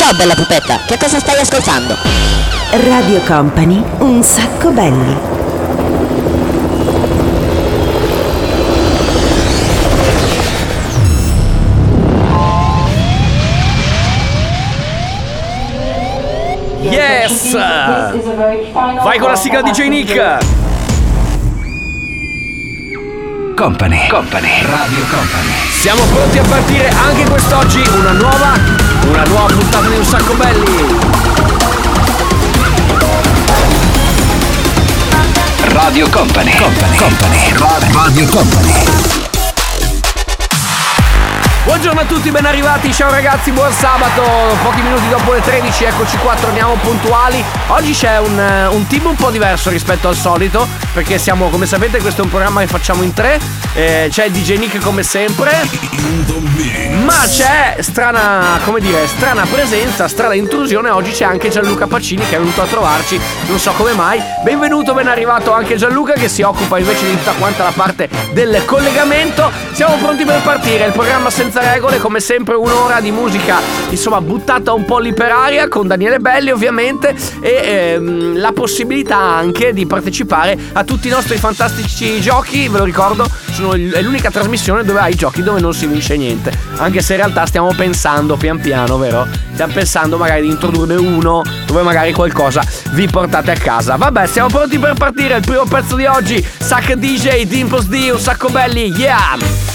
Ciao bella pupetta, che cosa stai ascoltando? Radio Company, un sacco belli. Yes! Vai con la sigla DJ Nick! Company, Radio Company. Siamo pronti a partire anche quest'oggi, una nuova puntata di Un Sacco Belli. Radio Company. Radio Company. Buongiorno a tutti, ben arrivati, ciao ragazzi, buon sabato. Pochi minuti dopo le 13, eccoci qua, torniamo puntuali. Oggi c'è un team un po' diverso rispetto al solito, perché siamo, come sapete, questo è un programma che facciamo in tre. C'è DJ Nick come sempre, ma c'è strana presenza, strana intrusione. Oggi c'è anche Gianluca Pacini che è venuto a trovarci, non so come mai. Benvenuto, ben arrivato anche Gianluca, che si occupa invece di tutta quanta la parte del collegamento. Siamo pronti per partire, il programma senza regole, come sempre un'ora di musica, insomma, buttata un po' lì per aria, con Daniele Belli ovviamente, e la possibilità anche di partecipare a tutti i nostri fantastici giochi. Ve lo ricordo, è l'unica trasmissione dove hai giochi dove non si vince niente, anche se in realtà stiamo pensando pian piano, vero? Stiamo pensando magari di introdurne uno dove magari qualcosa vi portate a casa. Vabbè, siamo pronti per partire. Il primo pezzo di oggi, Sac DJ, Dimples D, Un Sacco Belli, yeah!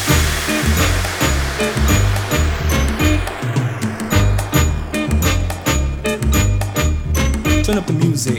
Turn up the music.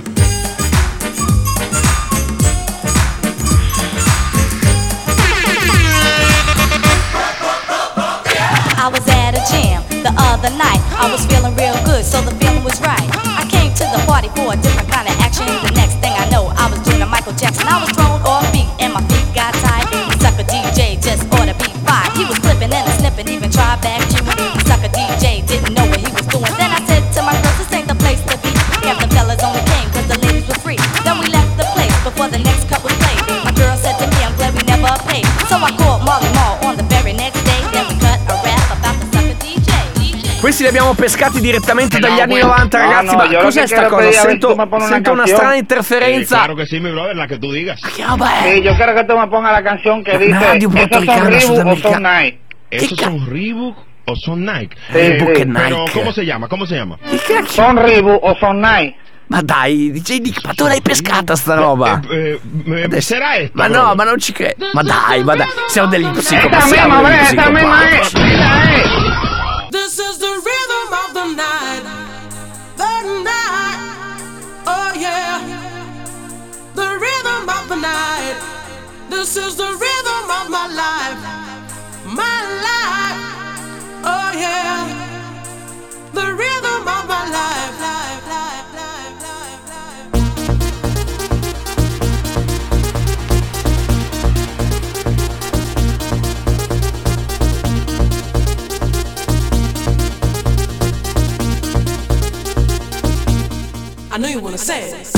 I was at a jam the other night. I was feeling real good, so the feeling was right. I came to the party for a different kind of action. The next thing I know, I was doing a Michael Jackson. I was thrown off beat and my feet got tied. The sucker DJ just ought to be fired. He was flipping and snipping, even tried back chewing. The sucker DJ didn't know what he was doing. Then I said to my girls, this ain't the place to be. Half the fellas only came cause the ladies were free. Then we left the place before the next cut was played. My girl said to me, I'm glad we never paid. So I called Molly Mall on the very next day. Then we cut a rap about the sucker DJ. Questi li abbiamo pescati direttamente dagli anni 90, ragazzi. Ma cos'è sta cosa? Sento una strana interferenza. Claro que sí, mi brother, la que tú digas. Che roba è? Sí, yo quiero que tú me pongas la canción que dice Radio ¿esos son Puertorricana Reebok o Sudamericana. son Nike? ¿Esos son Reebok o son Nike? Reebok e Pero, Nike. ¿cómo se llama? ¿Cómo se llama? Che cacchio? ¿Son Reebok o son Nike? Ma dai, DJ Nick, ma tu l'hai pescata sta roba? Adesso- Será esto? Ma no, ma non ci credo. Ma dai, siamo degli psicopati. Esta misma, ves, esta misma es. Mira, This is the rhythm of the night. The night. Oh yeah. The rhythm of the night. This is the rhythm of my life. My life. Oh yeah. The rhythm of my life. Life, life, life, life, life. I know you wanna say it.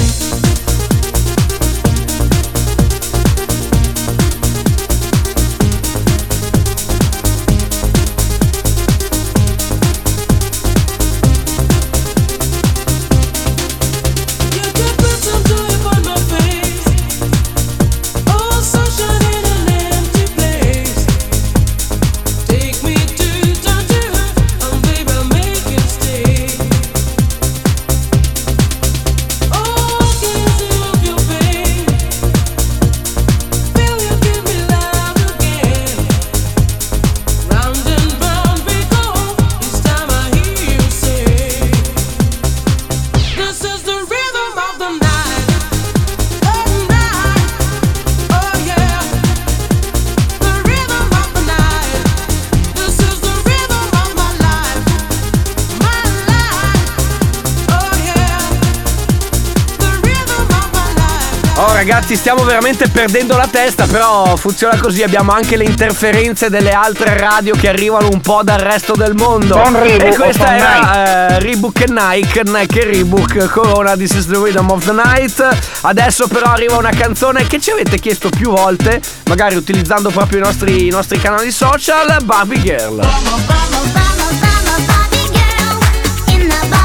Ragazzi, stiamo veramente perdendo la testa, però funziona così, abbiamo anche le interferenze delle altre radio che arrivano un po' dal resto del mondo. E questa era Reebok e Nike e Reebok, Corona, This is the Rhythm of the Night. Adesso però arriva una canzone che ci avete chiesto più volte, magari utilizzando proprio i nostri canali social, Barbie Girl. Barbie girl in the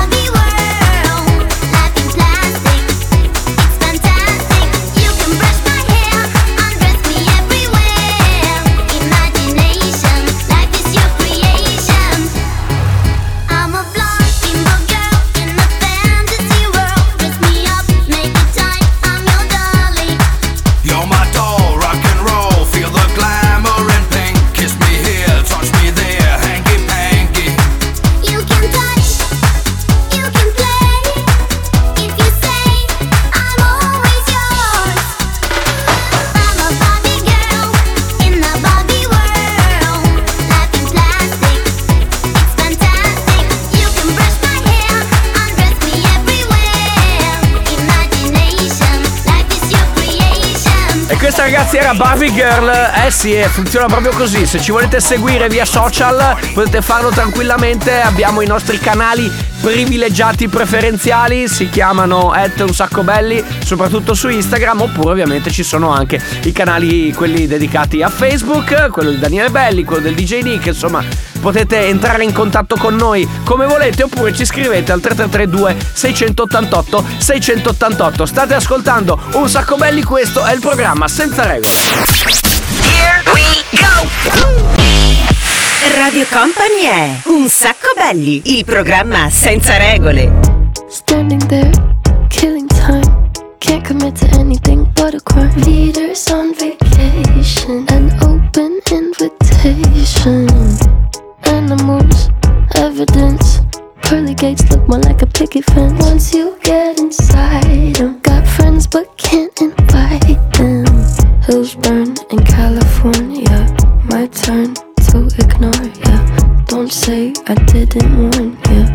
questa ragazzi era Barbie Girl. Sì, funziona proprio così. Se ci volete seguire via social potete farlo tranquillamente. Abbiamo i nostri canali privilegiati preferenziali, si chiamano @unsacco_belli, soprattutto su Instagram, oppure ovviamente ci sono anche i canali quelli dedicati a Facebook, quello di Daniele Belli, quello del DJ Nick, insomma potete entrare in contatto con noi come volete, oppure ci scrivete al 3332 688 688. State ascoltando Un Sacco Belli, questo è il programma Senza Regole. Here we go! Radio Company è Un Sacco Belli, il programma senza regole. Standing there, killing time. Can't commit to anything but a crime. Leaders on vacation, an open invitation. Animals, evidence. Pearly gates look more like a picket fence. Once you get inside them, got friends but can't invite them. Hills burn in California, my turn to ignore ya. Don't say I didn't warn ya.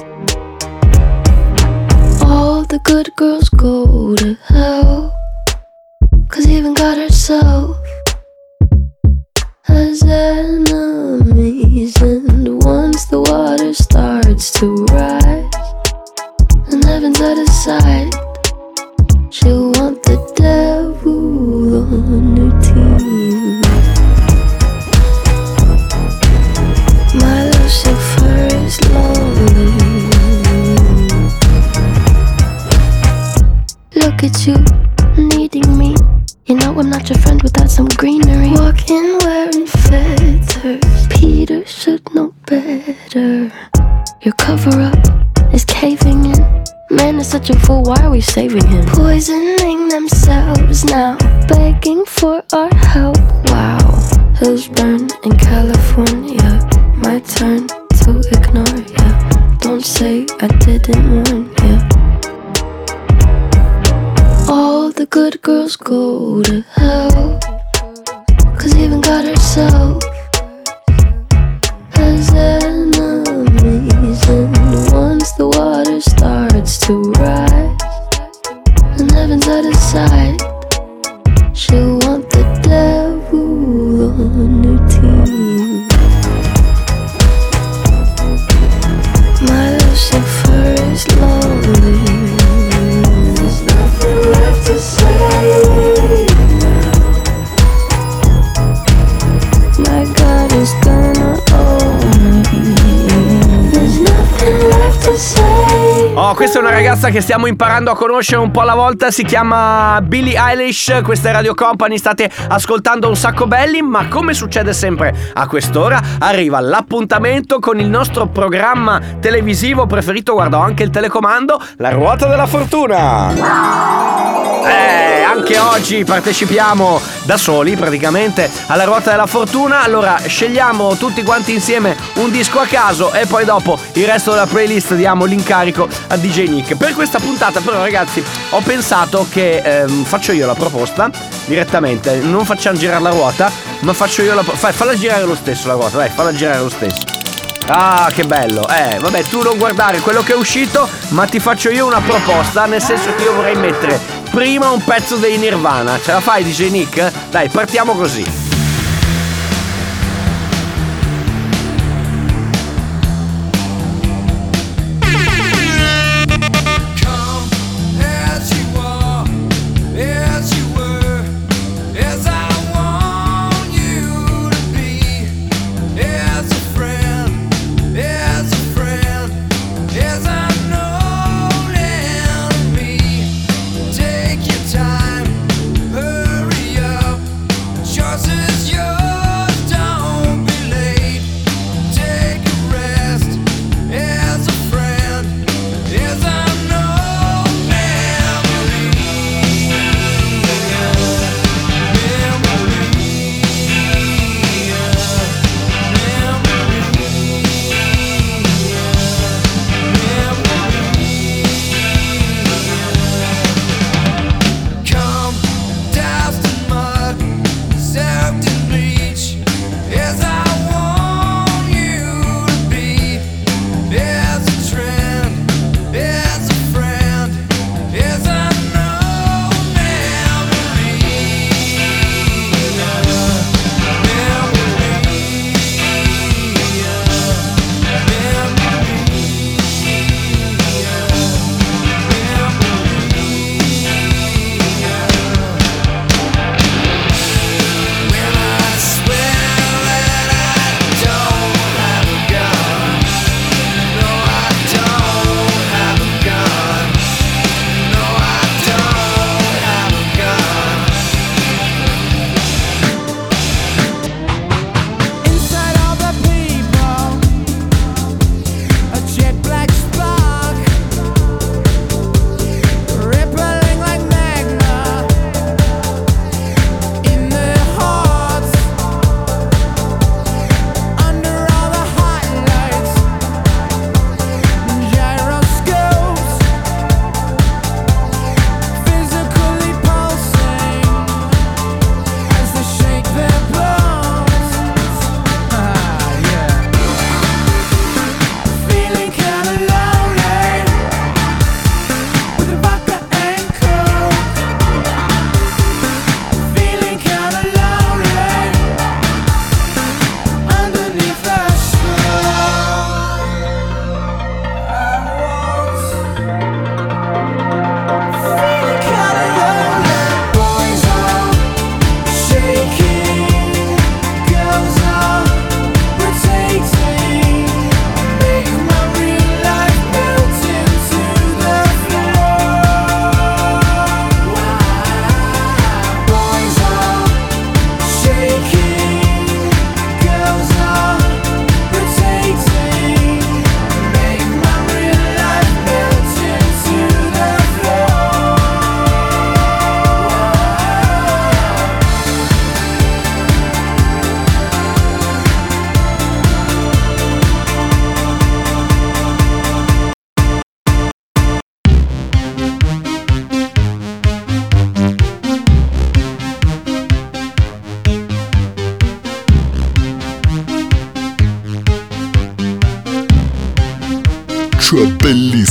All the good girls go to hell, 'cause even God herself has enemies. And once the water starts to rise and heaven's out of sight, she'll want the devil on her team. My Lucifer is lonely. Look at you, needing me. You know I'm not your friend without some greenery. Walking wearing feathers, Peter should know better. Your cover-up is caving in. Man is such a fool, why are we saving him? Poisoning themselves now, begging for our help. Wow, hills burn in California, my turn to ignore ya. Don't say I didn't warn ya. All the good girls go to hell, 'cause even God herself has enemies. And once the water starts to rise and heaven's out of sight, she'll want the devil on her team. My Lucifer is lonely. There's nothing left to say. My God is gonna own me. There's nothing left to say. Oh, questa è una ragazza che stiamo imparando a conoscere un po' alla volta, si chiama Billie Eilish, questa è Radio Company, state ascoltando Un Sacco Belli, ma come succede sempre a quest'ora arriva l'appuntamento con il nostro programma televisivo preferito, guarda, ho anche il telecomando, La Ruota della Fortuna. Anche oggi partecipiamo da soli praticamente alla Ruota della Fortuna. Allora scegliamo tutti quanti insieme un disco a caso e poi dopo il resto della playlist diamo l'incarico a DJ Nick. Per questa puntata però ragazzi ho pensato che faccio io la proposta direttamente, non facciamo girare la ruota ma faccio io falla girare lo stesso la ruota, dai, falla girare lo stesso. Ah, che bello. Vabbè, tu non guardare quello che è uscito, ma ti faccio io una proposta, nel senso che io vorrei mettere prima un pezzo dei Nirvana. Ce la fai, DJ Nick? Dai, partiamo così. Yours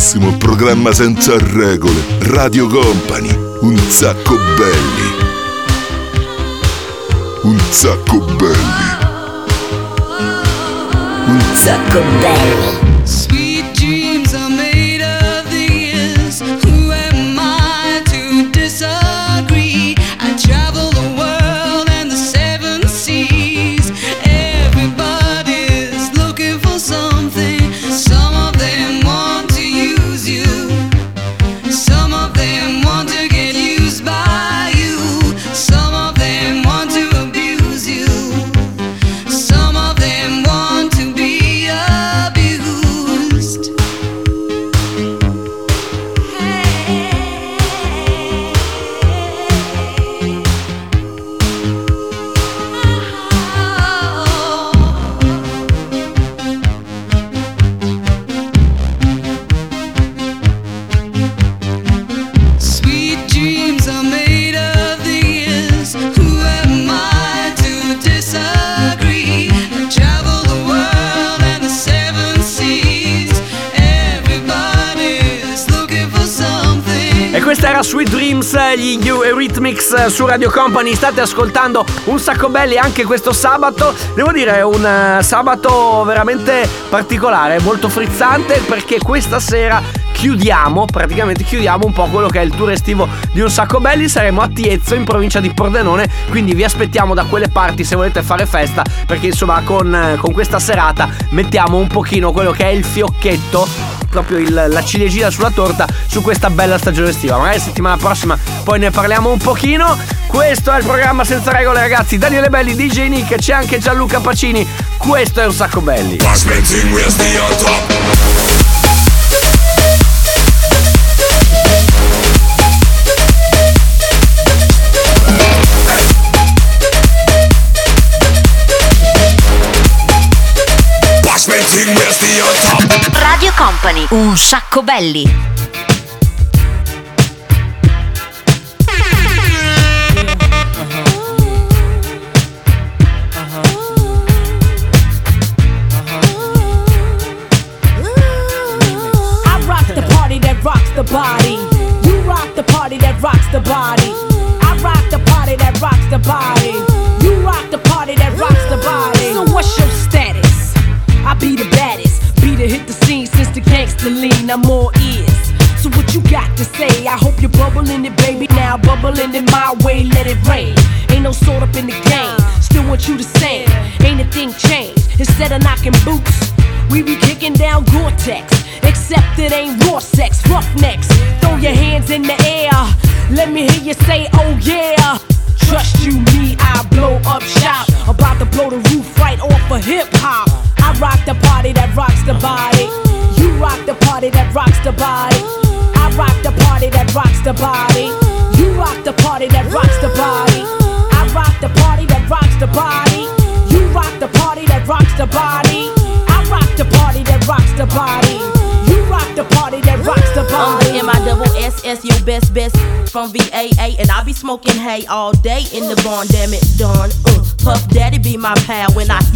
bellissimo programma senza regole. Radio Company, un sacco belli. Un sacco belli. Un sacco belli. Sweet dreams are made of these. Who am I to disagree? I travel the world and the seven seas. Everybody's looking for something. Some of them want to use you. Some of them want to get used by you. Some of them want to abuse you. Some of them want to be abused. Sweet dreams are made of these. Who am I to disagree? I travel the world and the seven seas. Everybody's looking for something. E questa era Sweet Dreams, gli New Eurythmics su Radio Company. State ascoltando Un Sacco Belli anche questo sabato. Devo dire un sabato veramente particolare, molto frizzante, perché questa sera praticamente chiudiamo un po' quello che è il tour estivo di Un Sacco Belli. Saremo a Tiezzo, in provincia di Pordenone, quindi vi aspettiamo da quelle parti se volete fare festa, perché insomma con questa serata mettiamo un pochino quello che è il fiocchetto, proprio la ciliegina sulla torta su questa bella stagione estiva. Magari settimana prossima poi ne parliamo un pochino. Questo è il programma senza regole, ragazzi. Daniele Belli, DJ Nick, c'è anche Gianluca Pacini. Questo è Un Sacco Belli. Radio Company, Un Sacco Belli. I rock the party that rocks the body. You rock the party that rocks the body. I rock the party that rocks the body. You rock the party that rocks the body. So what's your status? I be the baddest, be the hit the scene since the gangster lean. I'm all ears. So what you got to say? I hope you're bubbling it, baby. Now bubbling it my way, let it rain. Ain't no sort up in the game. Still want you the same. Ain't a thing changed. Instead of knocking boots, we be kicking down Gore-Tex. Except it ain't raw sex, roughnecks. Throw your hands in the air. Let me hear you say, oh yeah. Trust you, me, I blow up shop. About to blow the roof right off of hip hop. I rock the party that rocks the body. You rock the party that rocks the body. I rock the party that rocks the body. You rock the party that rocks the body. I rock the party that rocks the body. You rock the party that rocks the body. I rock the party that rocks the body. You rock the party that rocks the body. I'm the MISSS, your best from VAA, and I be smoking hay all day in the barn. Damn it, darn. Puff Daddy be my pal when I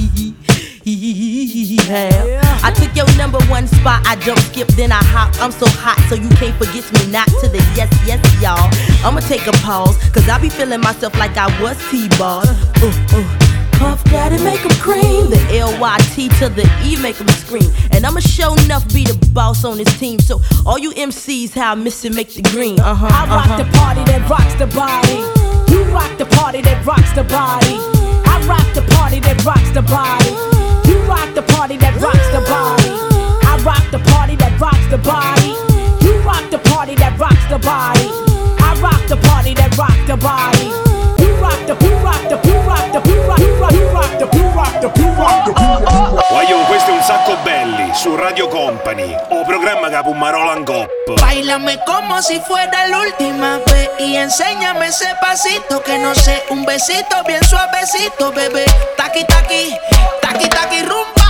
I took your number one spot, I don't skip, then I hop. I'm so hot, so you can't forget me not to the yes, yes, y'all. I'ma take a pause, cause I be feeling myself like I was T-Ball. Puff Daddy make him cream. The L-Y-T to the E make him scream. And I'ma show enough be the boss on this team. So all you MCs, how I miss it, make the green. I rock the party that rocks the body. You rock the party that rocks the body. I rock the party that rocks the body. You rock the party that rocks the body. I rock the party that rocks the body. You rock the party that rocks the body. I rock the party that rocks the body. You rock the, you rock the, you rock the, you rock the, you rock the, you rock the, you rock the. Guagliò, questo è Un Sacco Belli su Radio Company, o programma che Pumarola en Cop. Báilame como si fuera la última vez y enséñame ese pasito que no sé, un besito bien suavecito, bebé. Taqui taqui, taqui taqui rumba.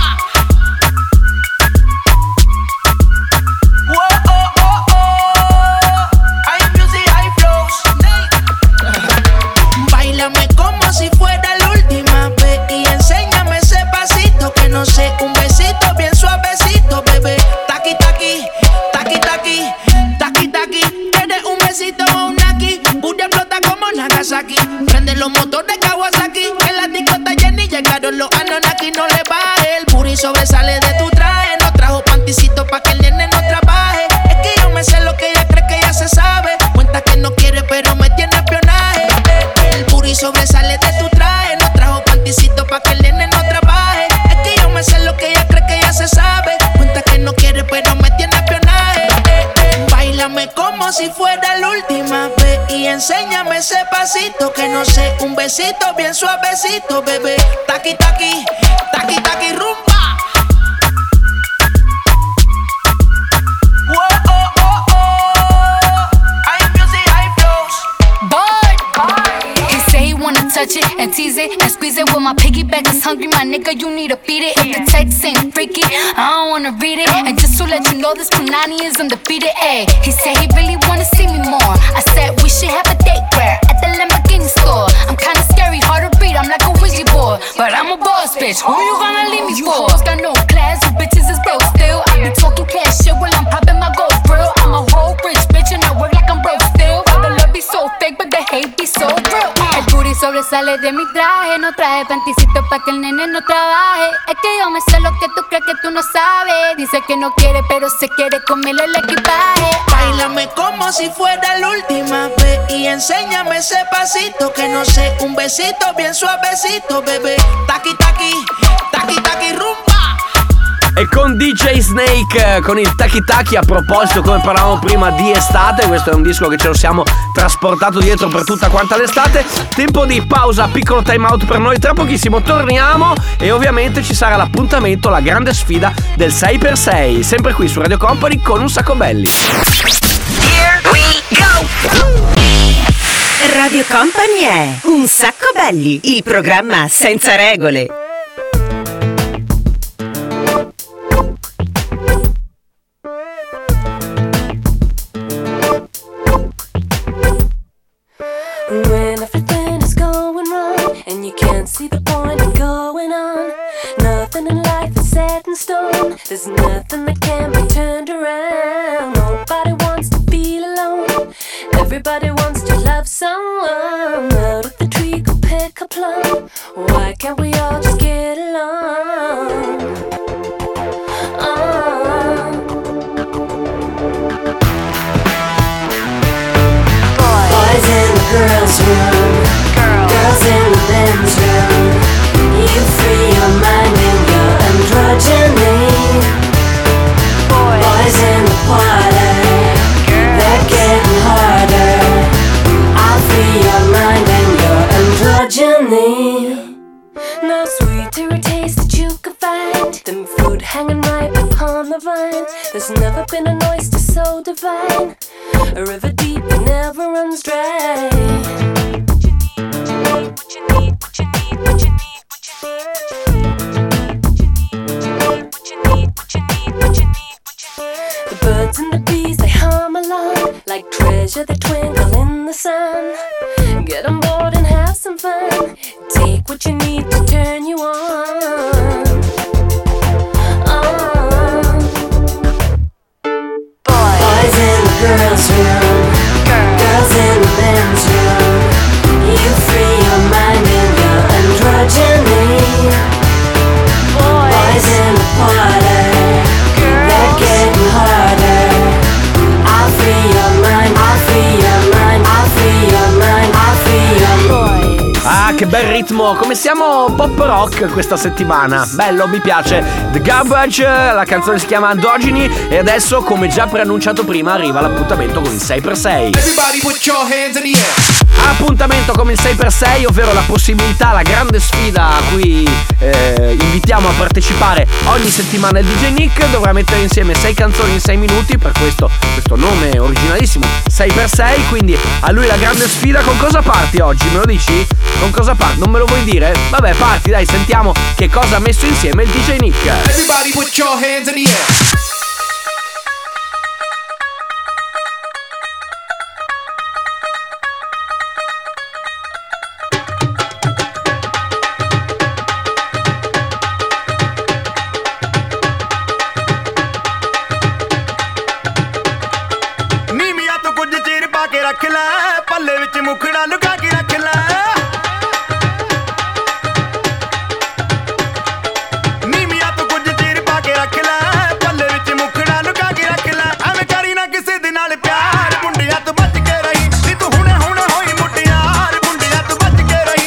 Báilame como si fuera la última vez y enséñame ese pasito que no sé, un besito bien suavecito, bebé. Taqui taqui, taqui taqui. sobresale de tu traje. No trajo panticito pa' que el nene no trabaje. Es que yo me sé lo que ella cree que ya se sabe. Cuenta que no quiere pero me tiene espionaje. Báilame como si fuera la última vez y enséñame ese pasito que no sé, un besito bien suavecito, bebé. Taqui, taqui, taqui, taqui, rumba. Touch it and tease it and squeeze it. With my piggyback is hungry, my nigga, you need to beat it. If the text ain't freaky, I don't wanna read it. And just to let you know, this Punani is undefeated. Ayy, he said he really wanna see me more. I said we should have a date where at the Lamborghini store. I'm kinda scary, hard to read, I'm like a Ouija board, but I'm a boss bitch. Who you gonna leave me for? You got no class, you bitches is broke still. I be talking cash shit while I'm popping my gold grill. I'm a whole rich bitch and I work like I'm broke still. But the love be so fake, but the hate be so real. El booty sobresale de mi traje. No traje panticito pa' que el nene no trabaje. Es que yo me sé lo que tú crees que tú no sabes. Dice que no quiere pero se quiere comerle el equipaje. Báilame como si fuera la última vez y enséñame ese pasito que no sé, un besito bien suavecito, bebé. Taqui, taqui, taqui, taqui, rumba. E con DJ Snake, con il Taki Taki, a proposito, come parlavamo prima di estate, questo è un disco che ce lo siamo trasportato dietro per tutta quanta l'estate. Tempo di pausa, piccolo time out per noi, tra pochissimo torniamo e ovviamente ci sarà l'appuntamento, la grande sfida del 6x6, sempre qui su Radio Company con un sacco belli. Here we go! Radio Company è Un sacco belli, il programma senza regole. When everything is going wrong and you can't see the point of going on, nothing in life is set in stone. There's nothing that can be turned around. Nobody wants to feel alone. Everybody wants to love someone. Out of the tree go pick a plum. Why can't we all just get along? Boys in the girls' room, girls in the men's room. You free your mind and your androgyny. Boys in the parlor, they're getting harder. I'll free your mind and your androgyny. No sweeter a taste that you could find than fruit hanging ripe upon the vine. There's never been an oyster so divine, a river deep that never runs dry. The birds and the bees, they hum along like treasure that twinkle in the sun. Get on board and have some fun. Take what you need to turn you on. Boys in the girls' room, girls in the men's room. You free your mind and your androgyny. Boys in the parlor, they're getting harder. I'll free your mind, I'll free your mind, I'll free your mind, I'll free your boys. Ah, che bel ritmo, come siamo pop rock questa settimana. Bello, mi piace. The Garbage, la canzone si chiama Androgyny e adesso, come già preannunciato prima, arriva l'appuntamento con il 6x6. Everybody put your hands in the air. Appuntamento come il 6x6, ovvero la possibilità, la grande sfida a cui invitiamo a partecipare ogni settimana il DJ Nick. Dovrà mettere insieme 6 canzoni in 6 minuti, per questo nome originalissimo 6x6, quindi a lui la grande sfida. Con cosa parti oggi? Me lo dici? Con cosa parti? Non me lo vuoi dire? Vabbè, parti, dai, sentiamo che cosa ha messo insieme il DJ Nick. Everybody put your hands in the air. ਰੱਖ ਲੈ ਪੱਲੇ ਵਿੱਚ ਮੁਖੜਾ ਲੁਕਾ ਕੇ ਰੱਖ ਲੈ ਨੀਮੀਆਂ ਤੋਂ ਕੁਝ ਚਿਰ ਪਾ ਕੇ ਰੱਖ ਲੈ ਪੱਲੇ ਵਿੱਚ ਮੁਖੜਾ ਲੁਕਾ ਕੇ ਰੱਖ ਲੈ ਐਵੇਂ ਕਰੀ ਨਾ ਕਿਸੇ ਦੇ ਨਾਲ ਪਿਆਰ ਮੁੰਡਿਆਂ ਤੋਂ ਬਚ ਕੇ ਰਹੀ ਨੀ ਤੂੰ ਹੁਣੇ ਹੋਈ ਮੁਟਿਆਰ ਮੁੰਡਿਆਂ ਤੋਂ ਬਚ ਕੇ ਰਹੀ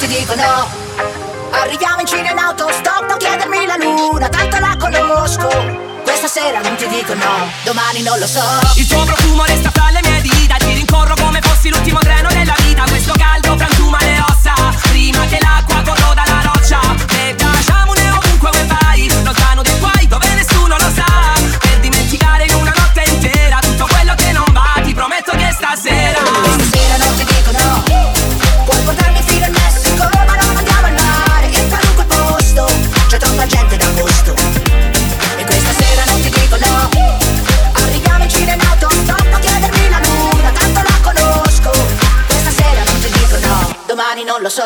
dico no. Arriviamo in Cina in autostop, non chiedermi la luna, tanto la conosco. Questa sera non ti dico no, domani non lo so. Il tuo profumo resta fra le mie dita, ti rincorro come fossi l'ultimo treno della vita. Questo caldo frantuma le ossa, prima che l'acqua corroda la roccia. E baciamone ovunque vuoi vai, lontano dai guai dove nessuno lo sa. Per dimenticare in una notte intera tutto quello che non va, ti prometto che stasera non ti dico no. Puoi portarmi fino al Messico, ma non andiamo al mare. In qualunque posto c'è troppa gente d'agosto. E questa sera non ti dico no. Arriviamo in Cina in autostop, non chiedermi la luna, tanto la conosco. Questa sera non ti dico no, domani non lo so.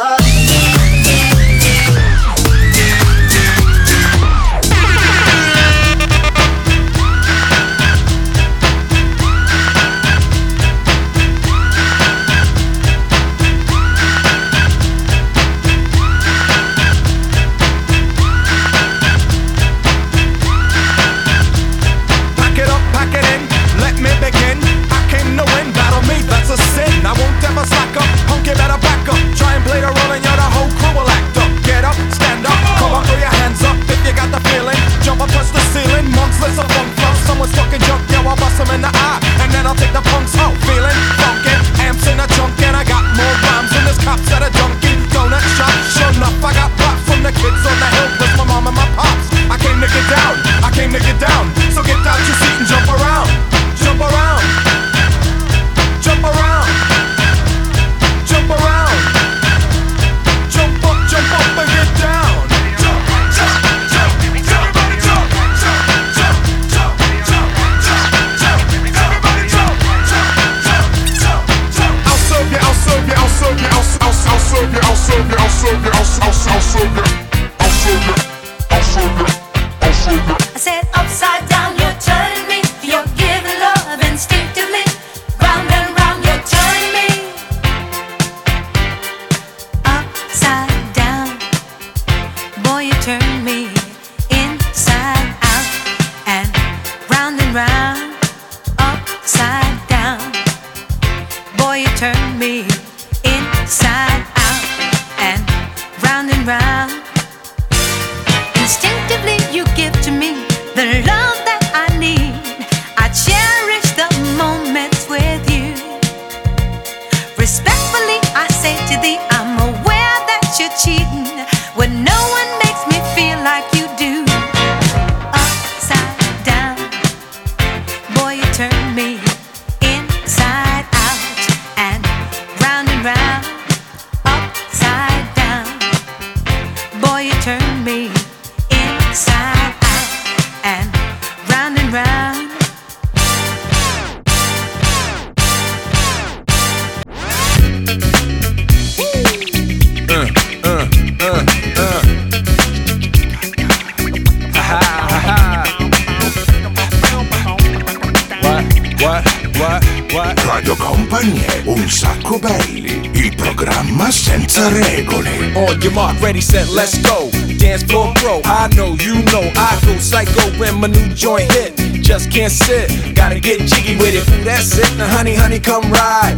Radio Company è Un Sacco Belli, il programma senza regole. On your mark, ready, set, let's go. Dance floor pro, I know, you know, I go psycho when my new joint hit. Just can't sit, gotta get jiggy with it. Ooh, that's it, now honey, honey, come ride.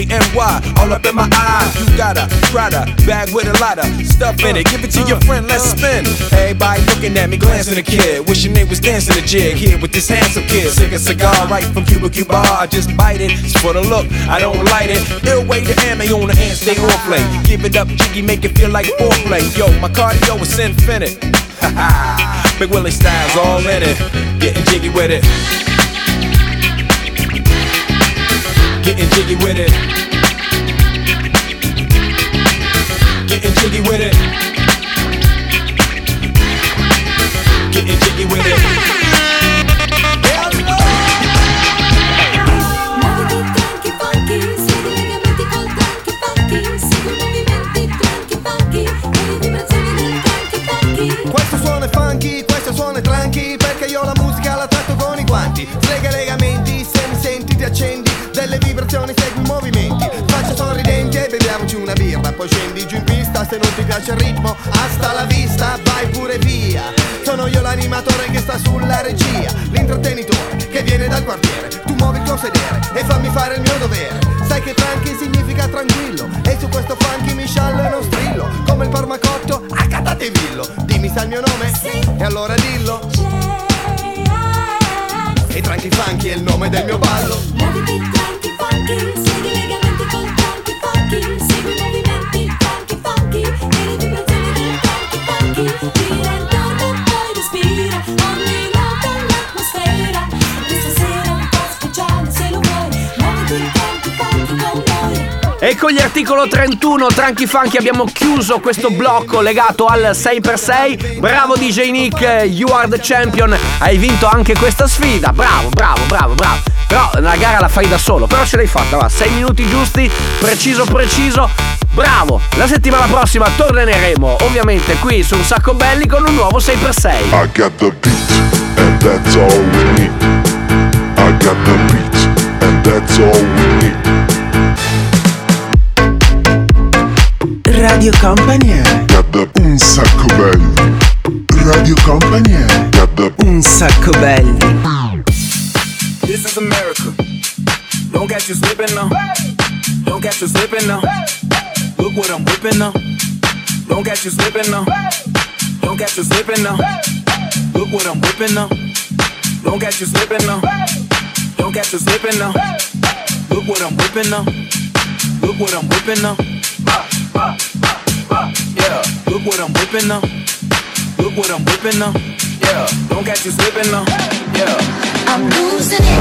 DKNY, all up in my eyes. You got a Prada bag with a lot of stuff in it. Give it to your friend, let's spin. Everybody looking at me, glancing a kid. Wishing they was dancing a jig here with this handsome kid. Sick a cigar right from Cuba Cuba. I just bite it, it's for the look, I don't light it. Ill way to ammo on the hand, stay on play. Give it up, jiggy, make it feel like foreplay. Yo, my cardio is infinite. Big Willie style's all in it. Getting jiggy with it. Getting jiggy with it. Getting jiggy with it. Getting jiggy with it. Questo suono è funky, questo suono è tranqui, perché io la musica la tratto con i guanti. Slega i legamenti, se mi senti ti accendi, delle vibrazioni segui i movimenti. Faccia sorridenti e beviamoci una birra, poi scendi giù in pista, se non ti piace il ritmo, hasta la vista, vai pure via. Sono io l'animatore che sta sulla regia, l'intrattenitore che viene dal quartiere. Tu muovi il tuo sedere e fammi fare il mio dovere. Sai che tranqui significa tranquillo, e su questo funky mi sciallo e non strillo. Dimmi, sai il mio nome? E allora dillo. E Tranqui Funky è il nome del mio ballo. Muoviti Tranqui Funky, segui legalmente con Tranqui Funky, segui i movimenti Tranqui Funky e le vibrazioni del Tranqui Funky. Gira intorno e poi respira, ogni nota l'atmosfera. Questa sera un po' speciale se lo vuoi, muoviti Tranqui Funky con noi. E con gli articolo 31 Tranqui Funky abbiamo chiuso questo blocco legato al 6x6. Bravo DJ Nick, you are the champion. Hai vinto anche questa sfida. Bravo. Però la gara la fai da solo, però ce l'hai fatta, va. 6 minuti giusti, preciso. Bravo. La settimana prossima torneremo ovviamente qui su Un Sacco Belli con un nuovo 6x6. I got the beat and that's all we need. I got the beat and that's all we need. Radio Company è Un Sacco Belli. Radio Company è Un Sacco Belli. This is America. Don't catch you slipping now. Don't catch you slipping now. Look what I'm whipping now. Don't catch you slipping now. Don't catch you slipping now. Look what I'm whipping now. Don't catch you slipping now. Don't catch you slipping now. Look what I'm whipping now. Look what I'm whipping now. Yeah, look what I'm whipping now. Look what I'm whipping now. Yeah, don't catch you slipping now. Yeah, I'm losing it.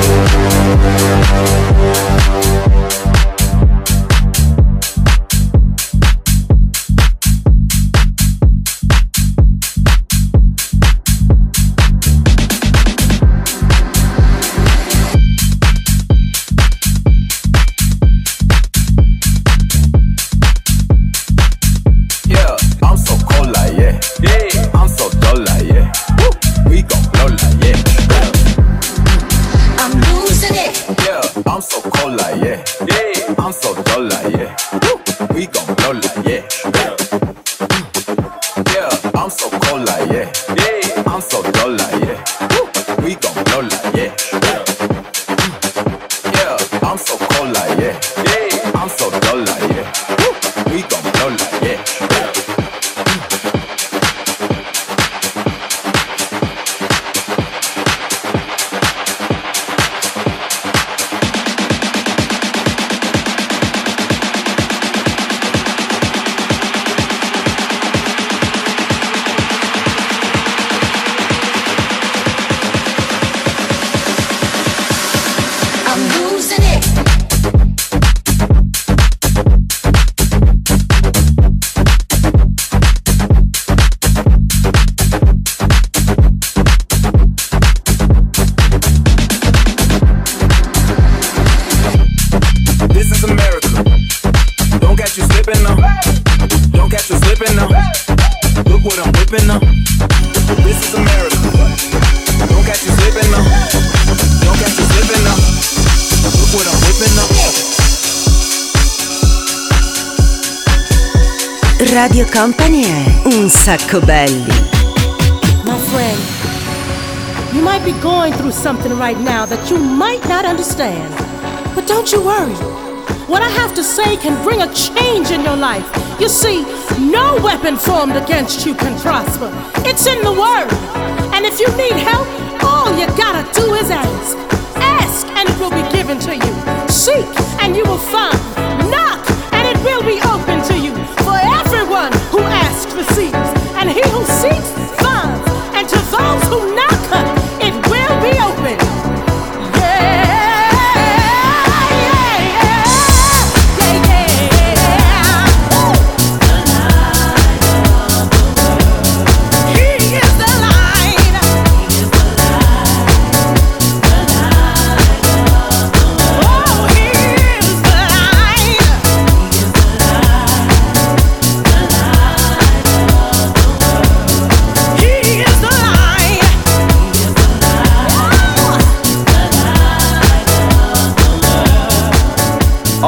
Radio Company è Un Sacco Belli. My friend, you might be going through something right now that you might not understand. But don't you worry. What I have to say can bring a change in your life. You see, no weapon formed against you can prosper. It's in the Word. And if you need help, all you gotta do is ask. Ask and it will be given to you. Seek and you will find. Knock and it will be open to you. For everyone who asks receives, and he who seeks finds, and to those who knock, it will be open. Oh, he is the light.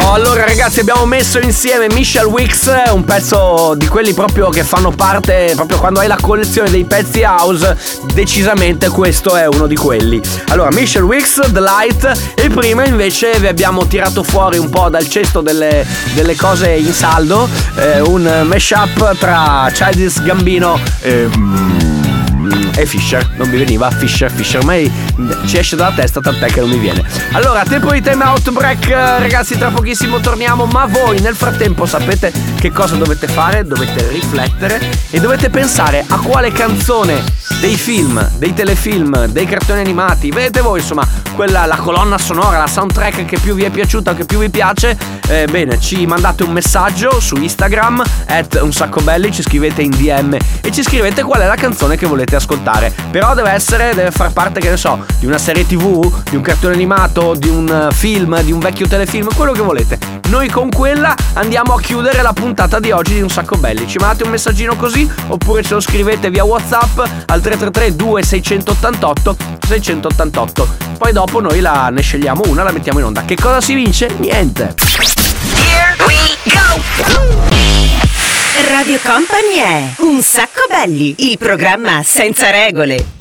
Allora ragazzi, abbiamo messo insieme Michelle Wicks, un pezzo di quelli proprio che fanno parte, proprio quando hai la collezione dei pezzi house, decisamente questo è uno di quelli. Allora, Michelle Wicks, The Light, e prima invece vi abbiamo tirato fuori un po' dal cesto delle cose in saldo, un mashup tra Childish Gambino e Fisher. Non mi veniva Fisher, ormai ci esce dalla testa, tant'è che non mi viene. Allora, tempo di time out break, ragazzi, tra pochissimo torniamo, ma voi nel frattempo sapete che cosa dovete fare? Dovete riflettere e dovete pensare a quale canzone dei film, dei telefilm, dei cartoni animati, vedete voi, insomma, quella, la colonna sonora, la soundtrack che più vi è piaciuta, che più vi piace. Bene, ci mandate un messaggio su Instagram @unsaccobelli, ci scrivete in DM e ci scrivete qual è la canzone che volete ascoltare. Però deve far parte, che ne so, di una serie TV, di un cartone animato, di un film, di un vecchio telefilm, quello che volete. Noi con quella andiamo a chiudere la puntata di oggi di Un Sacco Belli. Ci mandate un messaggino così, oppure ce lo scrivete via WhatsApp al 333 2688 688. Poi dopo noi ne scegliamo una, la mettiamo in onda. Che cosa si vince? Niente. Here we go! Radio Company è Un Sacco Belli, il programma senza regole.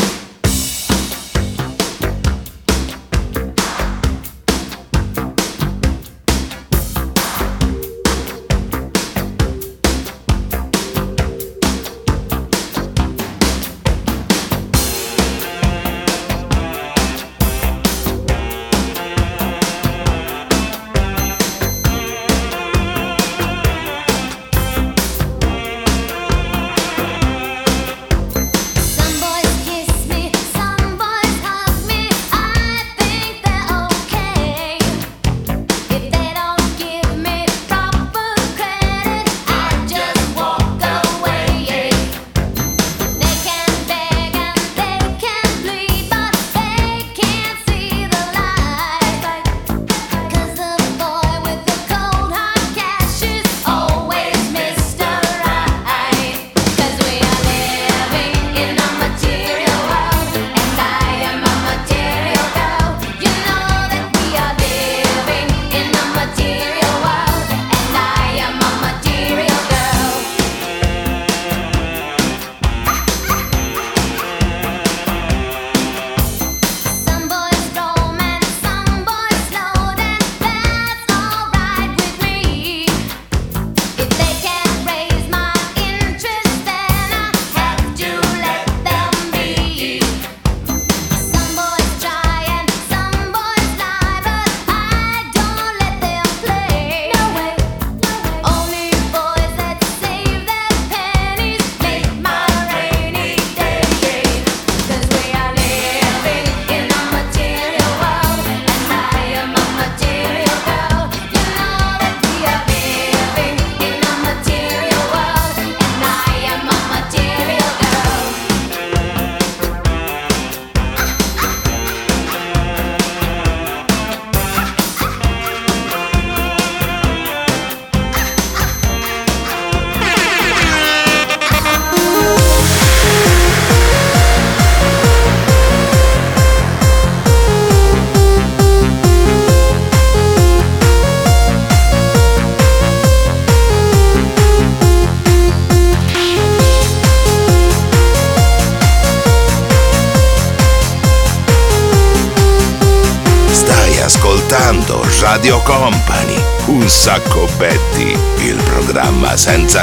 Radio Company, Un Sacco Belli, il programma senza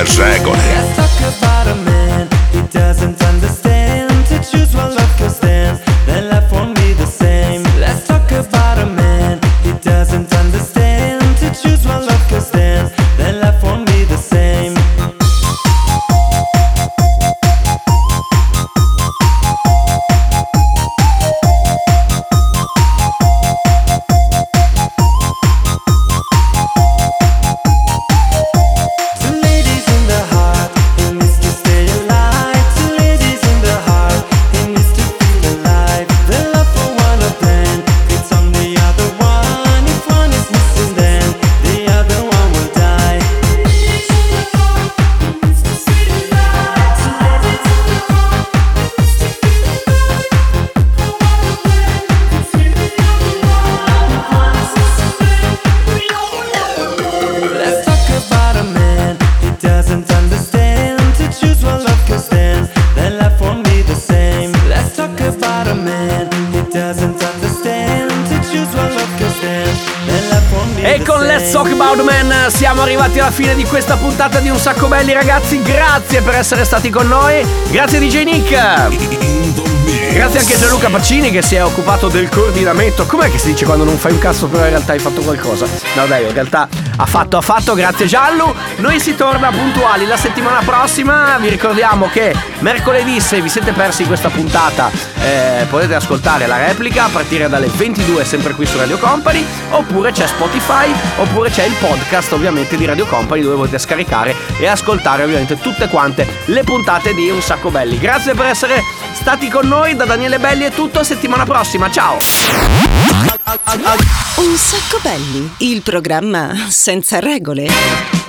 regole. Ladies in the heart, in this to stay alive. siamo arrivati alla fine di questa puntata di Un Sacco Belli, ragazzi. Grazie per essere stati con noi. Grazie DJ Nick. Grazie anche a Gianluca Pacini che si è occupato del coordinamento. Com'è che si dice quando non fai un cazzo però in realtà hai fatto qualcosa? No dai, in realtà ha fatto. Grazie Giallu. Noi si torna puntuali la settimana prossima. Vi ricordiamo che mercoledì, se vi siete persi questa puntata, potete ascoltare la replica a partire dalle 22 sempre qui su Radio Company, oppure c'è Spotify, oppure c'è il podcast ovviamente di Radio Company, dove potete scaricare e ascoltare ovviamente tutte quante le puntate di Un Sacco Belli. Grazie per essere stati con noi. Da Daniele Belli è tutto, settimana prossima, ciao. Un Sacco Belli, il programma senza regole.